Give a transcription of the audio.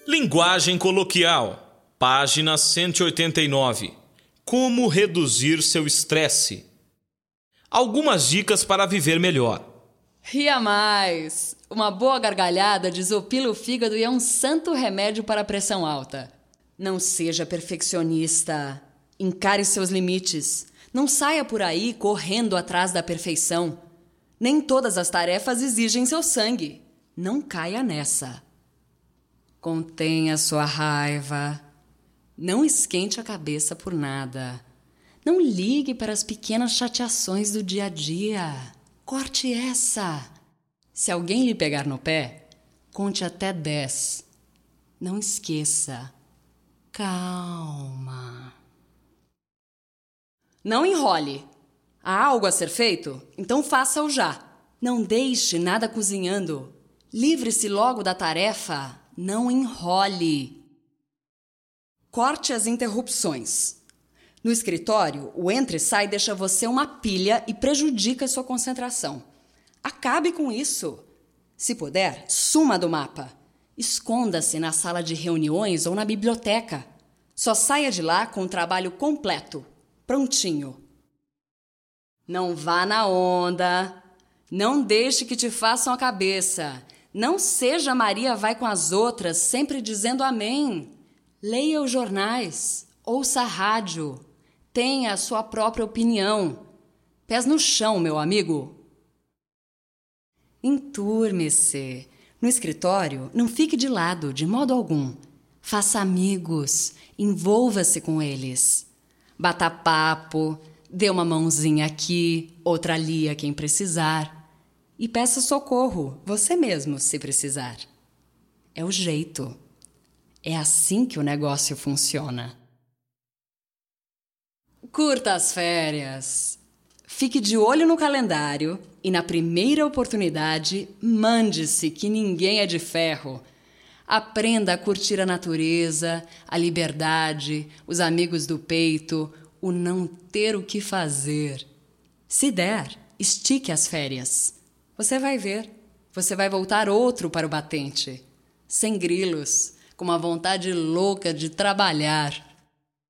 Linguagem coloquial, página 189. Como reduzir seu estresse? Algumas dicas para viver melhor. Ria mais! Uma boa gargalhada desopila o fígado e é um santo remédio para a pressão alta. Não seja perfeccionista. Encare seus limites. Não saia por aí correndo atrás da perfeição. Nem todas as tarefas exigem seu sangue. Não caia nessa. Contenha sua raiva. Não esquente a cabeça por nada. Não ligue para as pequenas chateações do dia a dia. Corte essa. Se alguém lhe pegar no pé, conte até 10. Não esqueça. Calma. Não enrole. Há algo a ser feito? Então faça-o já. Não deixe nada cozinhando. Livre-se logo da tarefa. Não enrole. Corte as interrupções. No escritório, o entra e sai deixa você uma pilha e prejudica sua concentração. Acabe com isso. Se puder, suma do mapa. Esconda-se na sala de reuniões ou na biblioteca. Só saia de lá com o trabalho completo, prontinho. Não vá na onda. Não deixe que te façam a cabeça. Não seja Maria vai com as outras, sempre dizendo amém. Leia os jornais, ouça a rádio. Tenha a sua própria opinião. Pés no chão, meu amigo. Enturme-se. No escritório, não fique de lado, de modo algum. Faça amigos, envolva-se com eles. Bata papo, dê uma mãozinha aqui, outra ali a quem precisar. E peça socorro, você mesmo, se precisar. É o jeito. É assim que o negócio funciona. Curta as férias. Fique de olho no calendário e, na primeira oportunidade, mande-se que ninguém é de ferro. Aprenda a curtir a natureza, a liberdade, os amigos do peito, o não ter o que fazer. Se der, estique as férias. Você vai ver, você vai voltar outro para o batente, sem grilos, com uma vontade louca de trabalhar.